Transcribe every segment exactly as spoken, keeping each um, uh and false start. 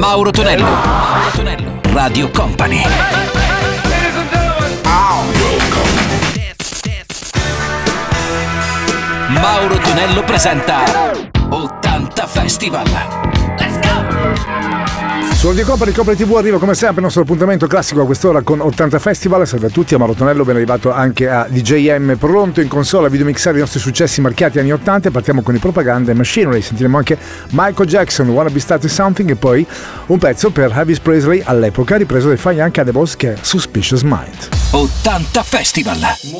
Mauro Tonello, Mauro Tonello, Radio Company. Mauro Tonello presenta ottanta Festival. Let's go! Su Radio Company Company tivù arriva come sempre il nostro appuntamento classico a quest'ora con ottanta Festival. Salve a tutti, a Mauro Tonello, ben arrivato anche a D J M, pronto in console a videomixare i nostri successi marchiati anni ottanta. Partiamo con i Propaganda e Machinery, sentiremo anche Michael Jackson, Wanna Be Started Something, e poi un pezzo per Elvis Presley all'epoca ripreso dai Fire Young Cannibals, che è Suspicious Mind. ottanta Festival.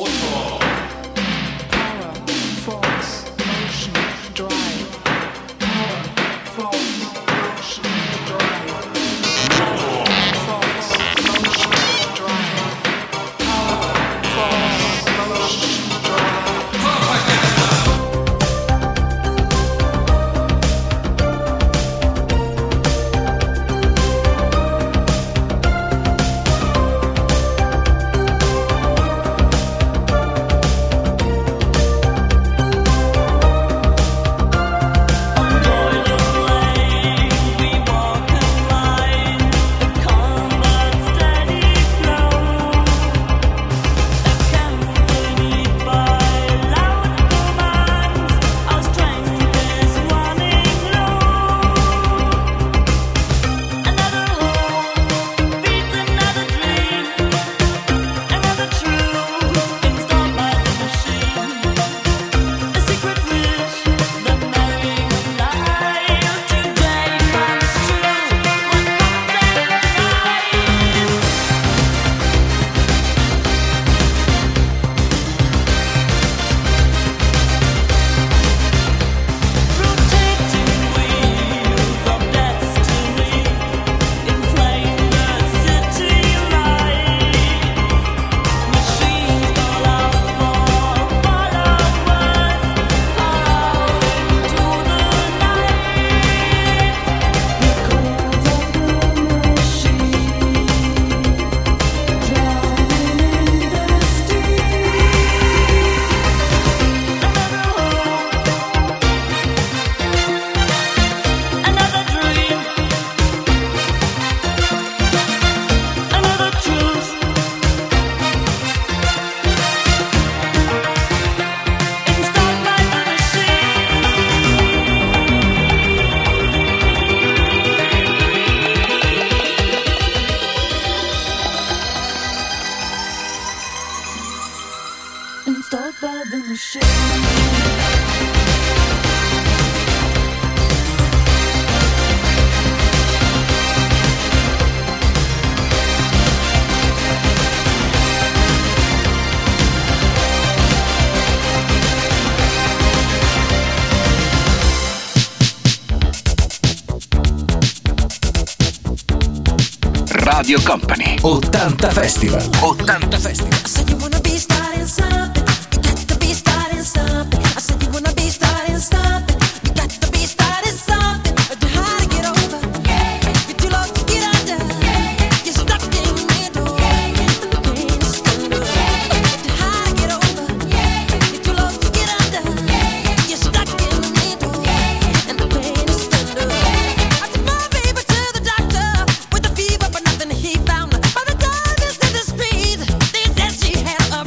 Radio Company, ottanta Festival. ottanta Festival. He found by the darkness of the street. They said she had a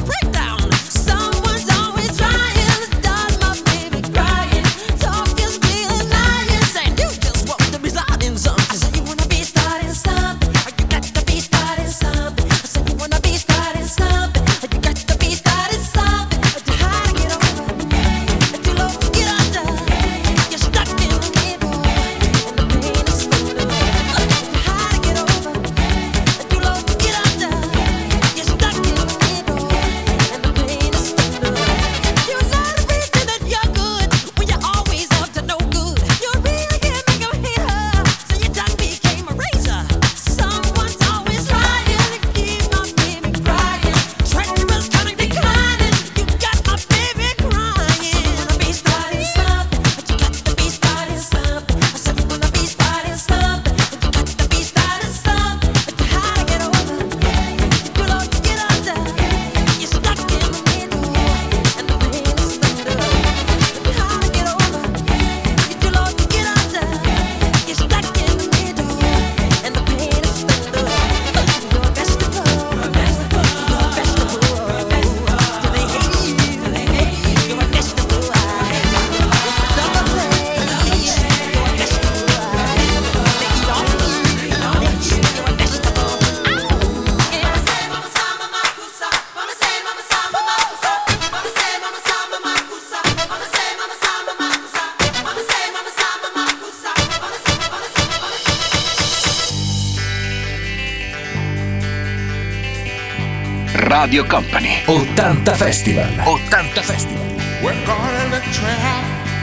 Radio Company. ottanta Festival. ottanta Festival. We're caught in a trap.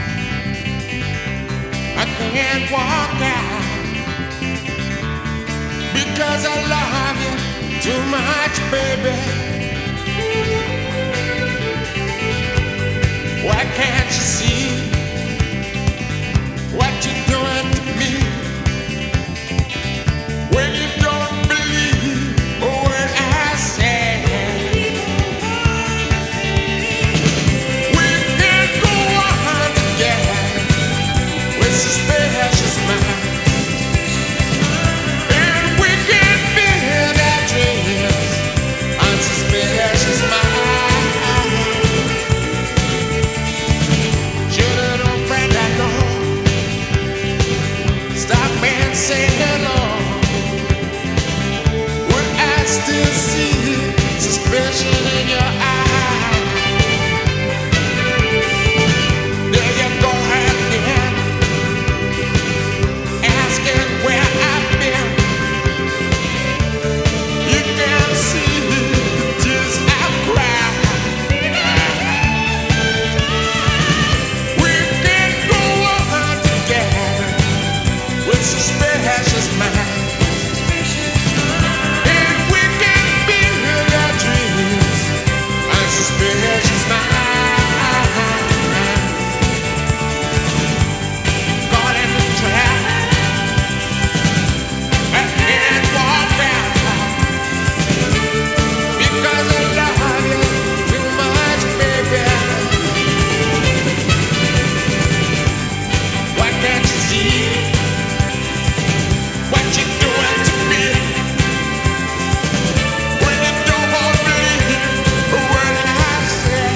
I can't walk out because I love you too much, baby. Why can't you see what you're doing to me? When you don't believe a word I say. We can go on together with suspicious minds, and we can build our dreams on suspicious minds. Should an old friend I know stop and say hello? Would I still see suspicion in your eyes? There you go again, asking where I've been. You can see the tears I've cried. We can go on together with suspicious minds, and we can build our dreams on suspicious minds. Caught in the trap, I can't walk out because I love you too much, baby. Why can't you see what you're doing to me? When you don't believe a word I say.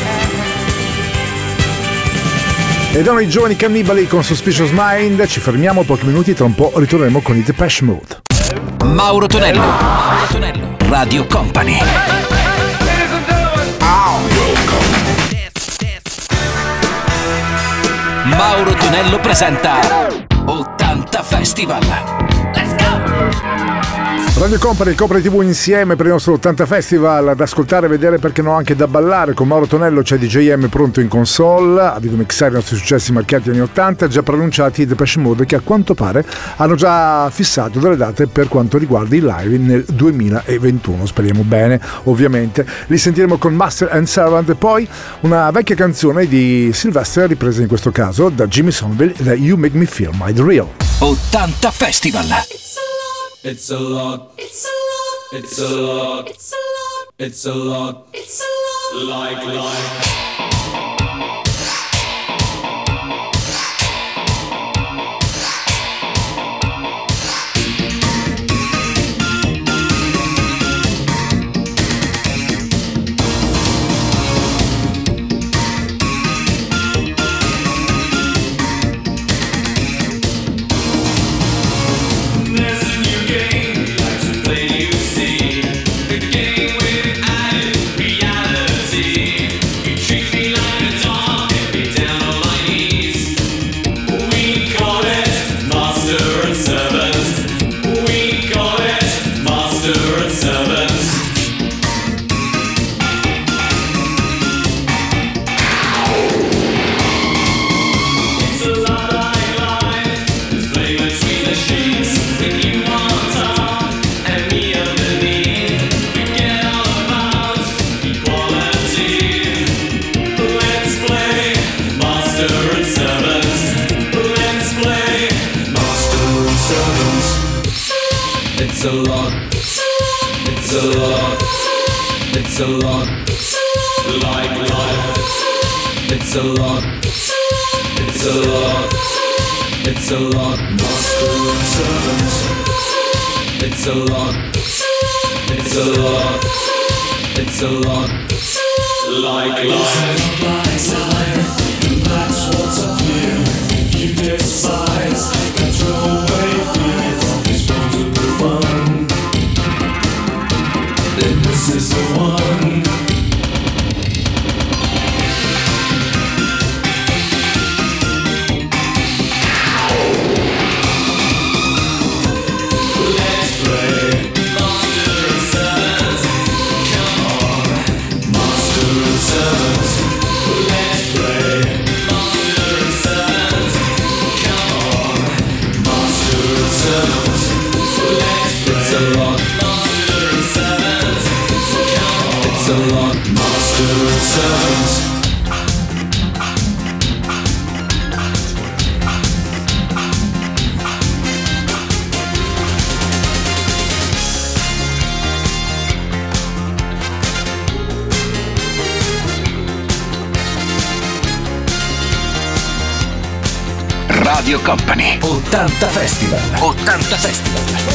Ed erano i giovani Cannibali con Suspicious Mind. Ci fermiamo pochi minuti, tra un po' ritorneremo con i Depeche Mode. Mauro Tonello. Mauro Tonello. Radio Company. Mauro Tonello presenta ottanta Festival. Radio Company, il Copre tivù insieme per il nostro ottanta Festival, ad ascoltare, vedere, perché no, anche da ballare. Con Mauro Tonello c'è D J M pronto in console a videomixare i nostri successi marchiati anni ottanta, già pronunciati i Depeche Mode, che a quanto pare hanno già fissato delle date per quanto riguarda i live nel duemilaventuno, speriamo bene ovviamente. Li sentiremo con Master and Servant, e poi una vecchia canzone di Sylvester ripresa in questo caso da Jimmy Somerville, da You Make Me Feel My Real. ottanta Festival. It's a lot. It's a lot. It's a lot. It's a lot. It's a lot. It's a lot. Like life. It's a lot. It's a lot. It's a lot. Like life. It's a lot. It's a lot. It's a lot. Master and servant. It's a lot. It's a lot. It's a lot. Like life. That's what's up here. You despise. Control away fear from disposable fun. Then this is the one. Let's play Master and Servant. Come on. servants. It's a lot. Master and servants. It's a lot. Master and servants. Radio Company ottanta Festival. ottanta Festival.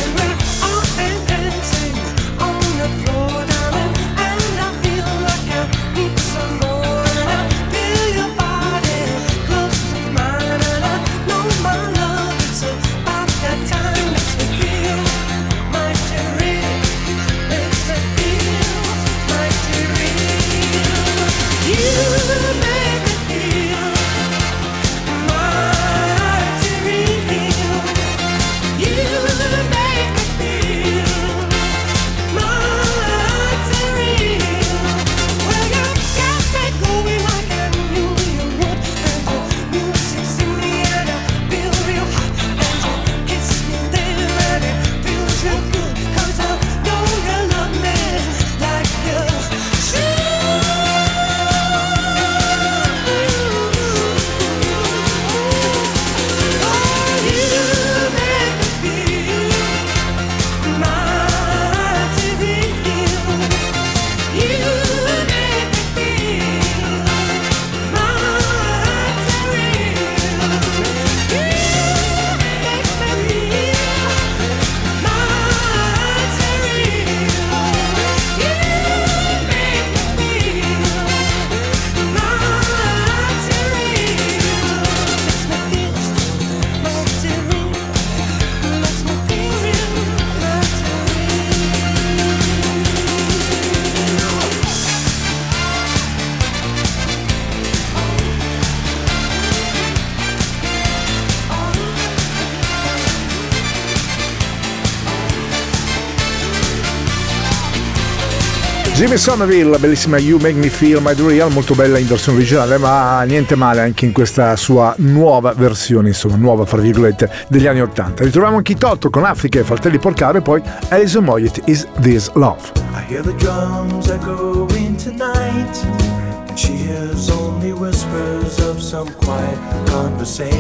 Jimmy Somerville, la bellissima You Make Me Feel My Real, molto bella in versione originale, ma niente male anche in questa sua nuova versione, insomma, nuova fra virgolette, degli anni ottanta. Ritroviamo anche Toto con Africa e Fratelli Porcaro e poi Alison Moyet, Is This Love? I hear the drums echoing tonight, and she hears only whispers of some quiet conversation.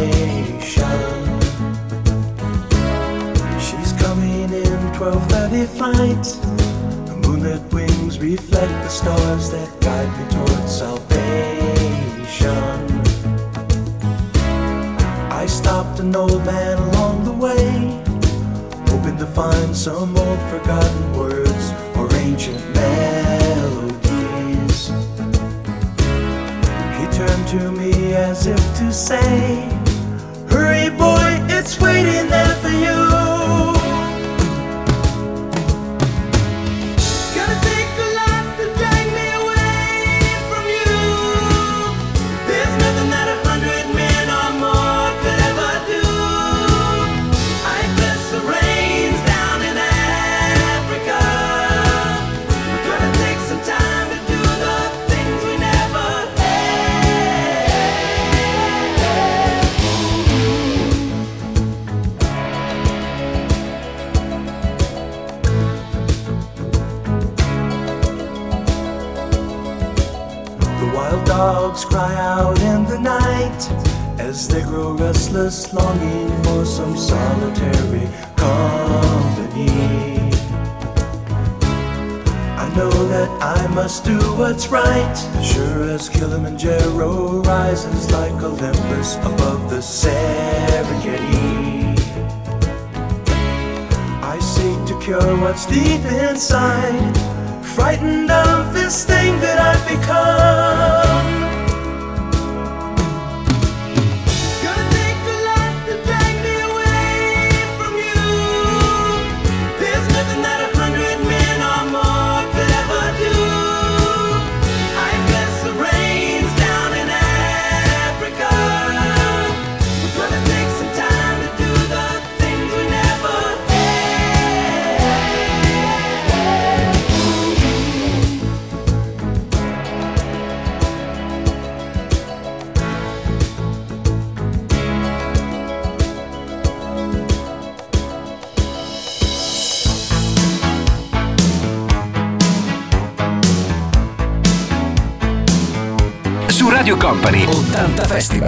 She's coming in twelve thirty flight. Moonlit wings reflect the stars that guide me towards salvation. I stopped an old man along the way, hoping to find some old forgotten words or ancient melodies. He turned to me as if to say, hurry boy, it's waiting there for you. Dogs cry out in the night as they grow restless, longing for some solitary company. I know that I must do what's right, sure as Kilimanjaro rises like Olympus above the Serengeti. I seek to cure what's deep inside, frightened of this thing that I've become. Radio Company ottanta Festival.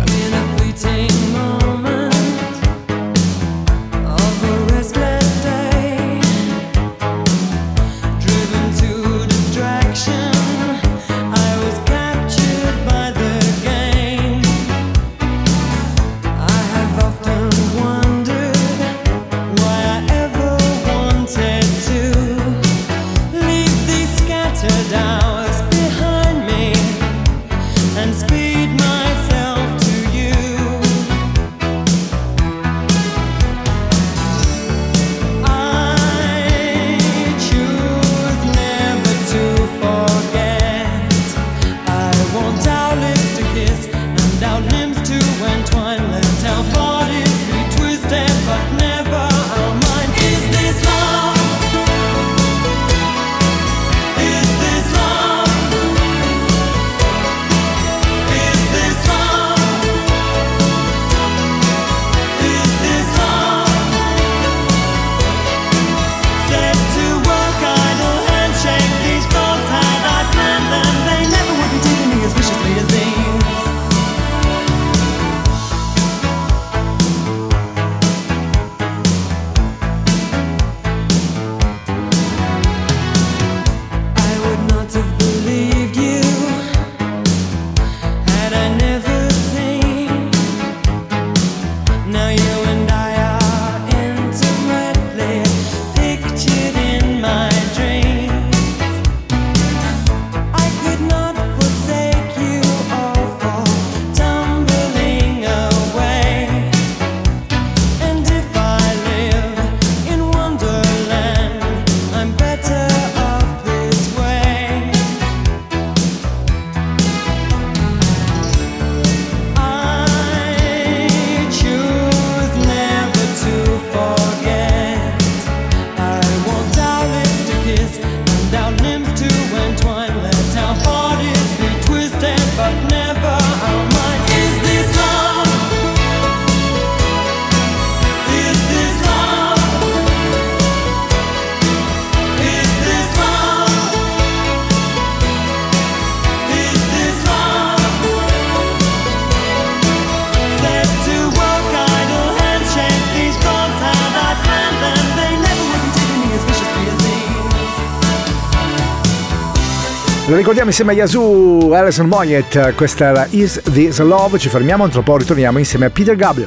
Lo ricordiamo insieme a Yazoo, Alison Moyet, questa era Is This Love, ci fermiamo, tra poco ritorniamo insieme a Peter Gabriel.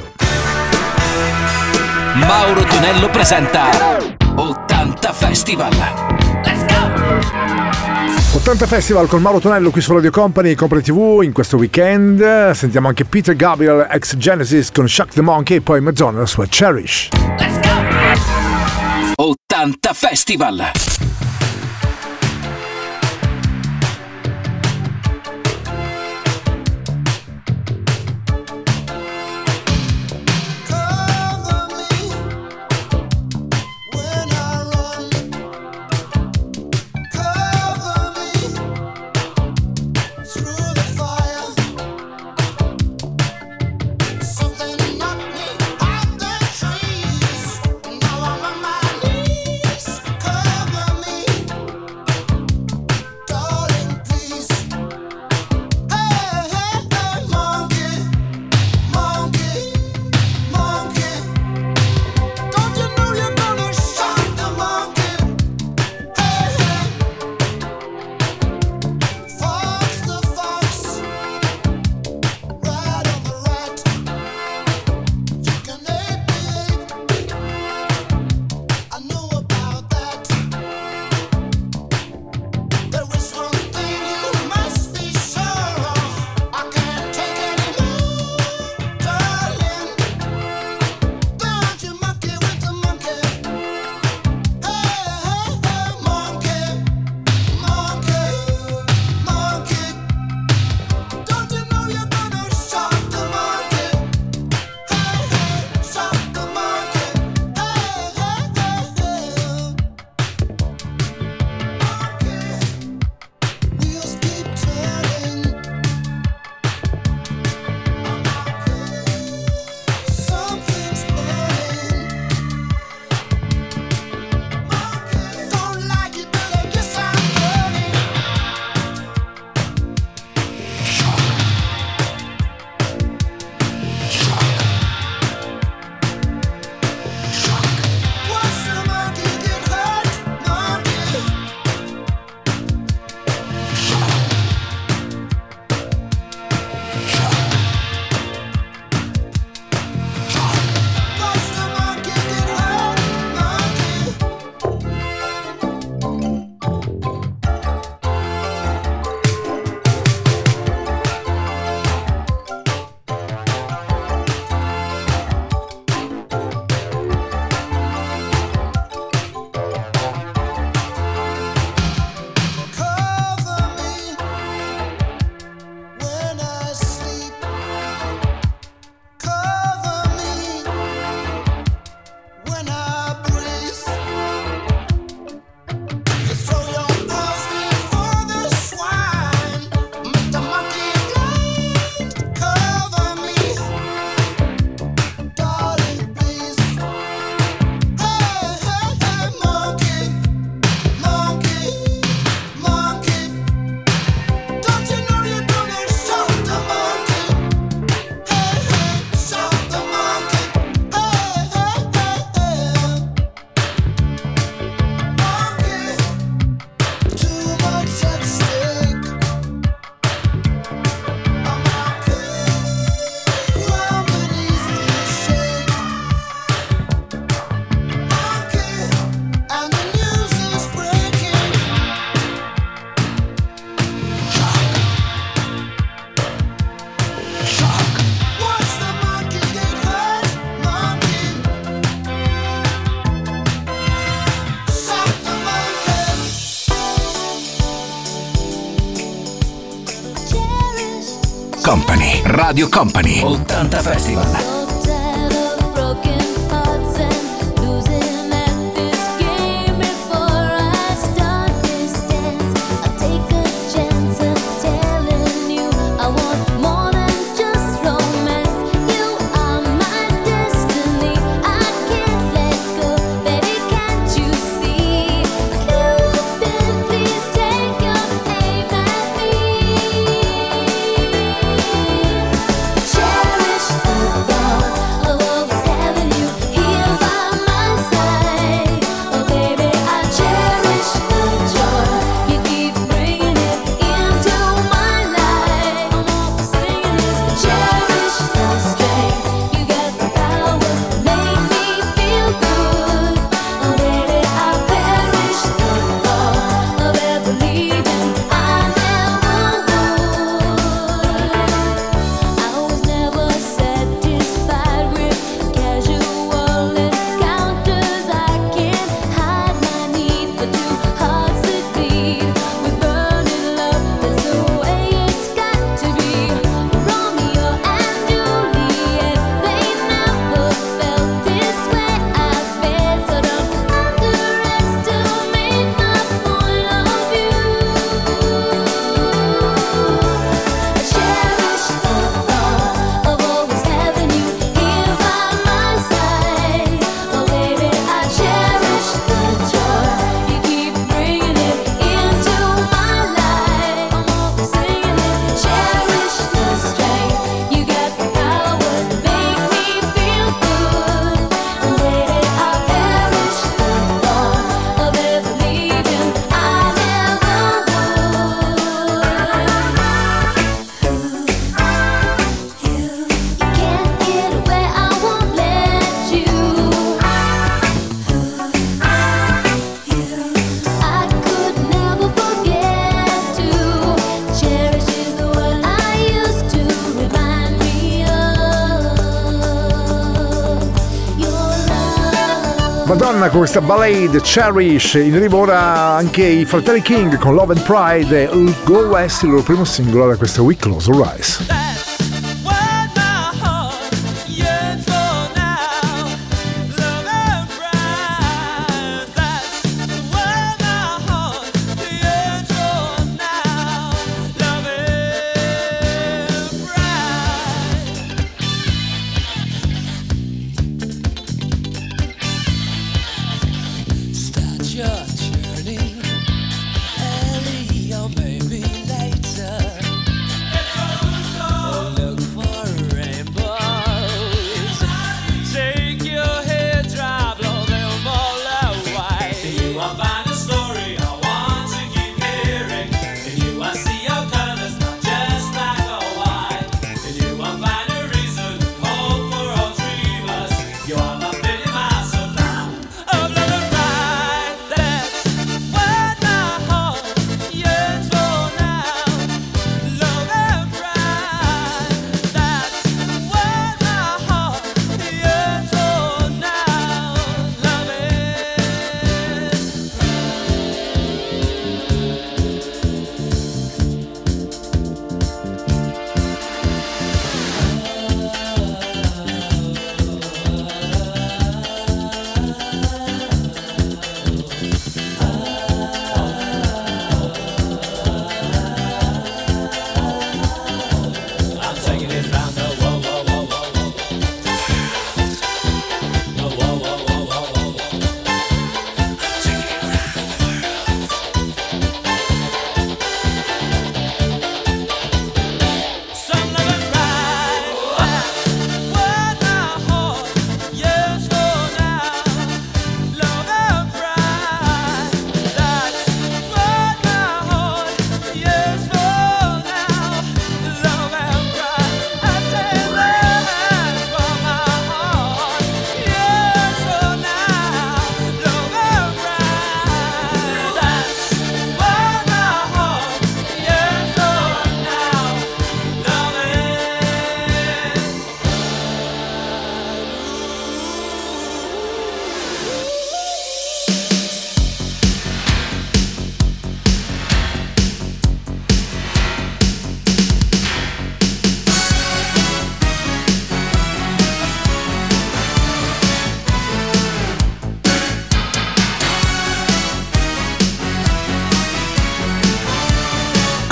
Mauro Tonello presenta ottanta Festival. Let's go! ottanta Festival con Mauro Tonello qui su Radio Company, Company tivù in questo weekend. Sentiamo anche Peter Gabriel, ex Genesis con Shock the Monkey e poi Madonna la sua Cherish. Let's go! ottanta Festival. Now I'm on my knees, cover me. Radio Company ottanta Festival. Madonna, con questa ballad Cherish, in arrivo ora anche i fratelli King con Love and Pride e Go West, il loro primo singolo da questa We Close Our Eyes. That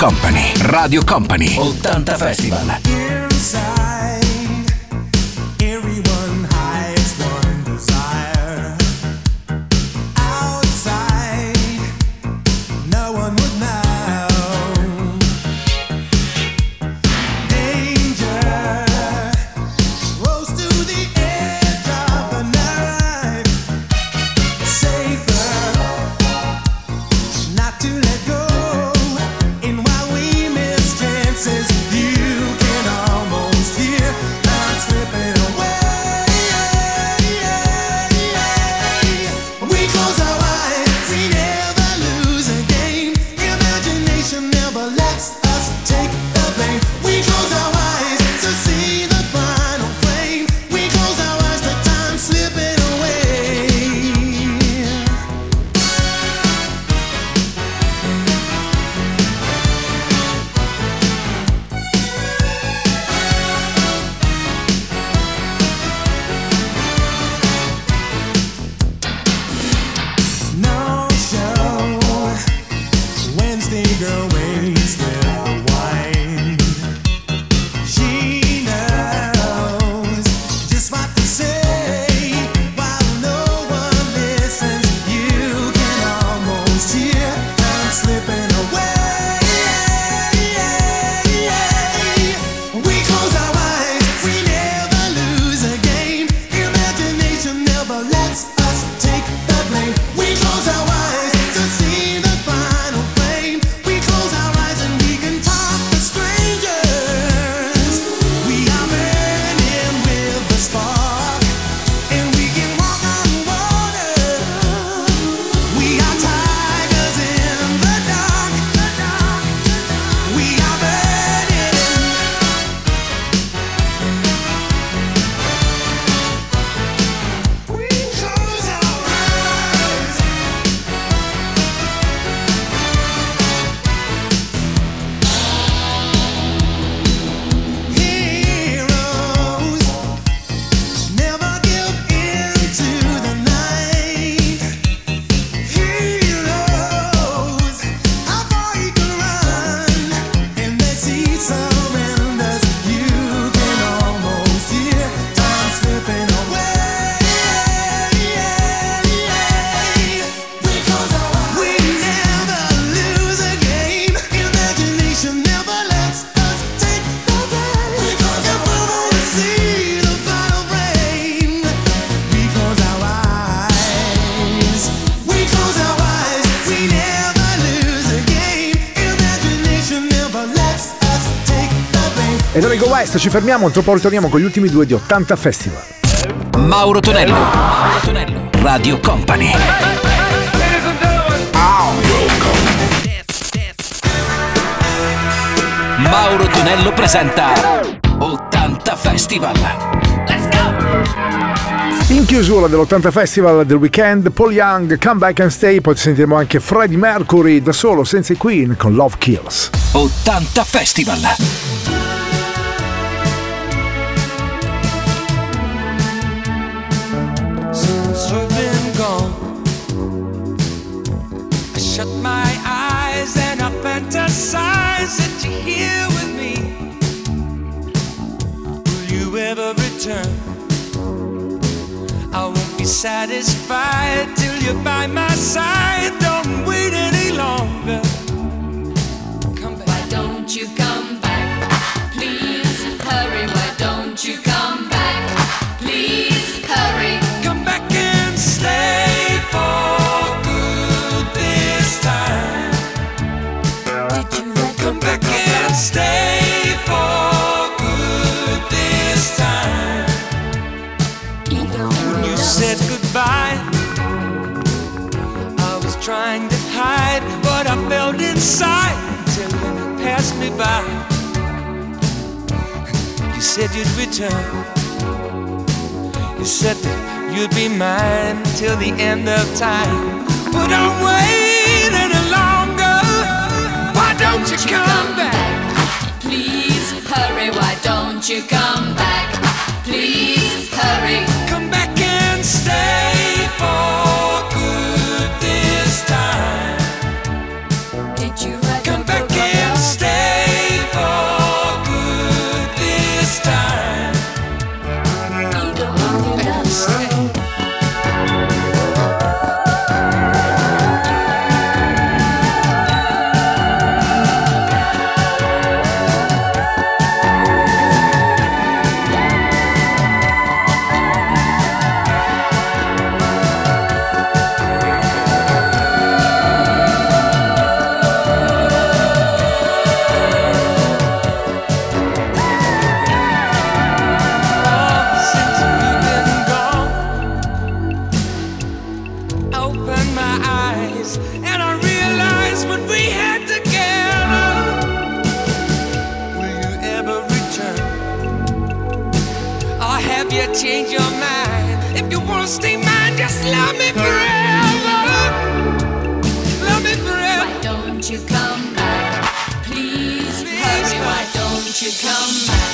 Company, Radio Company, ottanta Festival. Inside, everyone hides one desire. Outside, no one would know. Danger rose to the edge of the night. Safer not to let go. And while we miss chances, you can almost hear time slipping away. We close our eyes, we never lose a game. Imagination never lets us take the blame. We close our eyes to see the final flame. We close our eyes to time slipping away. No show. Wednesday girl waits with the wine. She knows just what to say. While no one listens, you can almost hear time slipping away. We close our eyes, we never lose a game. Imagination never lets us take the blame. We close our eyes to see the final flame. We close our eyes and we can talk to strangers. We are burning with the spark, and we can walk on water. We are tigers in the dark. We are burning. We close our eyes. Heroes never give in to the night. Heroes, how far you can run, and they see surrenders. You can almost hear time slipping away. We close our eyes. We never lose a game. Imagination never lets us take the blame. We close our eyes to see the final frame. We close our eyes. We close our eyes. We never lose a game. Imagination never lets us take the blame. Ed Enrico West, ci fermiamo, tra poco ritorniamo con gli ultimi due di ottanta Festival. Mauro Tonello, Mauro Tonello, Radio Company. Mauro Tonello presenta ottanta Festival. In chiusura dell'ottanta Festival del weekend, Paul Young, Come Back and Stay, poi sentiremo anche Freddie Mercury da solo senza i Queen con Love Kills. ottanta Festival. Since you've been gone, I shut my eyes and I fantasize that you're here with me. Will you ever return? I won't be satisfied till you're by my side. Don't wait any longer. Come back. Why don't you come back? Please hurry. Why don't you come back? Please hurry. Come back and stay for good this time. Did you let Come back and stay for good this time. either When you said goodbye, I was trying to hide what I felt inside till you passed me by. You said you'd return. You said that you'd be mine till the end of time. But I'm waiting any longer. Why don't you come back? Please hurry. Why don't you come back? Please hurry. Come back and stay for good this time. Did you write Come the back book of and love? stay eyes, and I realized what we had together. Will you ever return? Or have you changed your mind? If you wanna stay mine, just love me forever. Love me forever. Why don't you come back? Please, Please hurry, why don't you come back?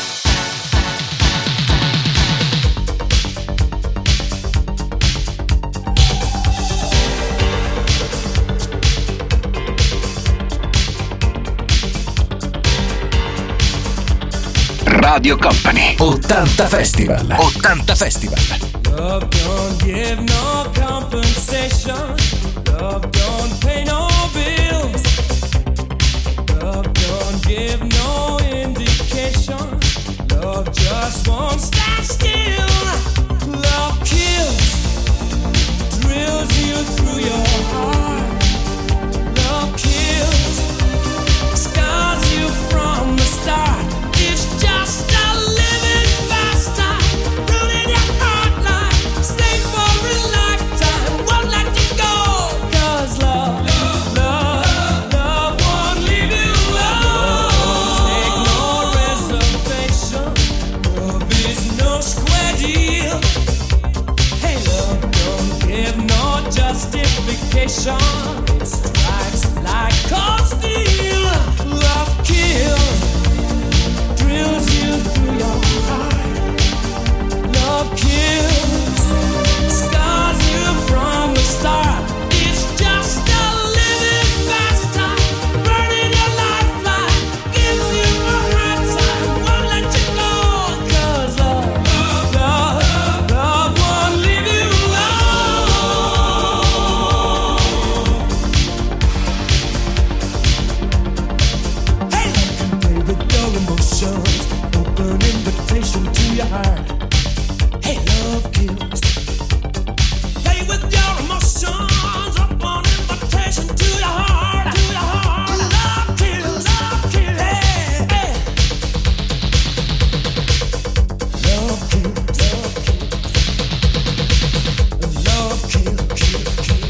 Radio Company ottanta Festival. ottanta Festival. Love don't give no compensation. Love don't pay no bills. Love don't give no indication. Love just won't stand still. Love kills, drills you through your heart. Love kills, scars you from the start. It's just a living faster, ruining your heart like stay for a lifetime, won't let you go. 'Cause love, love, love, love won't leave you alone. Take no reservation, love is no square deal. Hey, love don't give no justification. It strikes like cold steel. Love kills, drills you through your heart. Love kills, scars you from the start. It's just a living faster, burning your lifeline, gives you a hard time, won't let you go. 'Cause love, love, love won't leave you alone. Hey, love can play with your emotions, open invitation to your heart. Hey, love kills. Play with your emotions, open invitation to your heart. To your heart. Love kills, love kills. Hey, hey. Love kills, love kills. Love kills, kill, kill.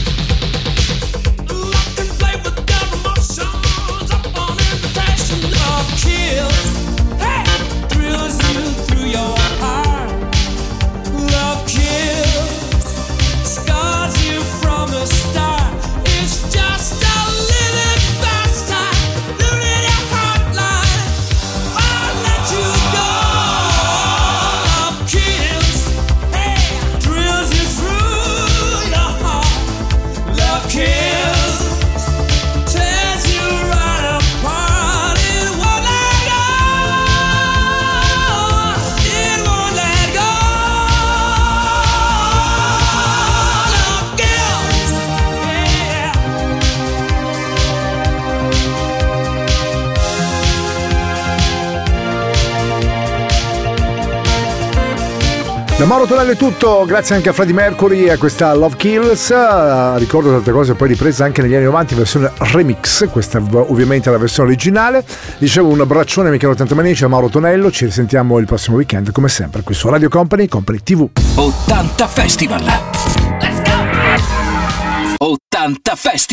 Love can play with your emotions, open invitation. Love kills. Hey, drills you through your heart. Love kills, scars you from the start. It's just a living faster, losing your heart line, won't let you go. Love kills, hey, drills you through your heart. Love kills, tears you right apart. It won't let go. It won't let go. Love kills, yeah. Da Mauro Tonello è tutto, grazie anche a Freddie Mercury e a questa Love Kills. Uh, ricordo tante cose poi riprese anche negli anni novanta in versione remix, questa v- ovviamente è la versione originale. Dicevo un abbraccione amici ottanta Manici a Mauro Tonello, ci risentiamo il prossimo weekend come sempre qui su Radio Company, Company tivù. ottanta Festival. Let's go! ottanta Festival.